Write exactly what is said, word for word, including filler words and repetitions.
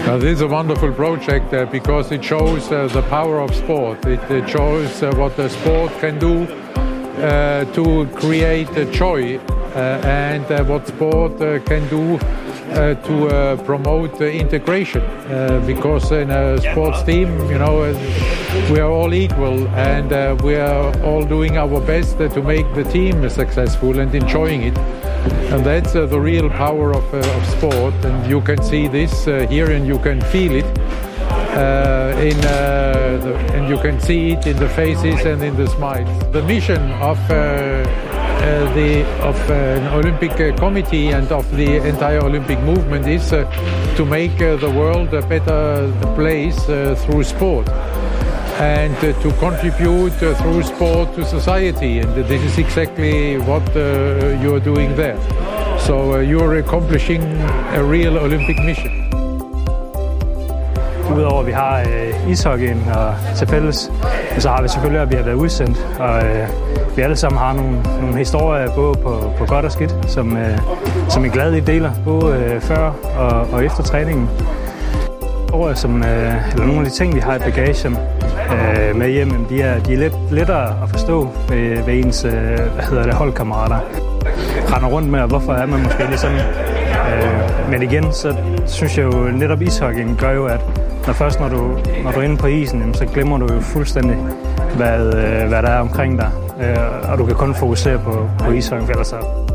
Uh, this is a wonderful project uh, because it shows uh, the power of sport. It, it shows uh, what the sport can do uh, to create uh, joy uh, and uh, what sport uh, can do uh, to uh, promote uh, integration. Uh, because in a sports team, you know, uh, we are all equal and uh, we are all doing our best uh, to make the team successful and enjoying it. And that's uh, the real power of, uh, of sport, and you can see this uh, here, and you can feel it uh, in, uh, the, and you can see it in the faces and in the smiles. The mission of uh, uh, the of uh, an Olympic uh, committee and of the entire Olympic movement is uh, to make uh, the world a better place uh, through sport, and uh, to contribute uh, through sport to society, and this is exactly what uh, you are doing there. So uh, you are accomplishing a real Olympic mission. Udover at vi har øh, ishockeyen og til fælles, så har vi selvfølgelig, at vi har været udsendt, og øh, vi alle sammen har nogle, nogle historier både på, på godt og skidt, som, øh, som er glade i deler, både øh, før og, og efter træningen. Som, øh, eller nogle af de ting, vi har i bagagen øh, med hjem, de er, de er lidt lettere at forstå ved, ved ens øh, hvad hedder det, holdkammerater. Render rundt med, og hvorfor er man måske lige sådan. Øh, men igen, så synes jeg jo netop ishockeyen gør jo, at når først når du, når du er inde på isen, jamen, så glemmer du jo fuldstændig, hvad, øh, hvad der er omkring dig. Øh, og du kan kun fokusere på, på ishockeyen, for ellers så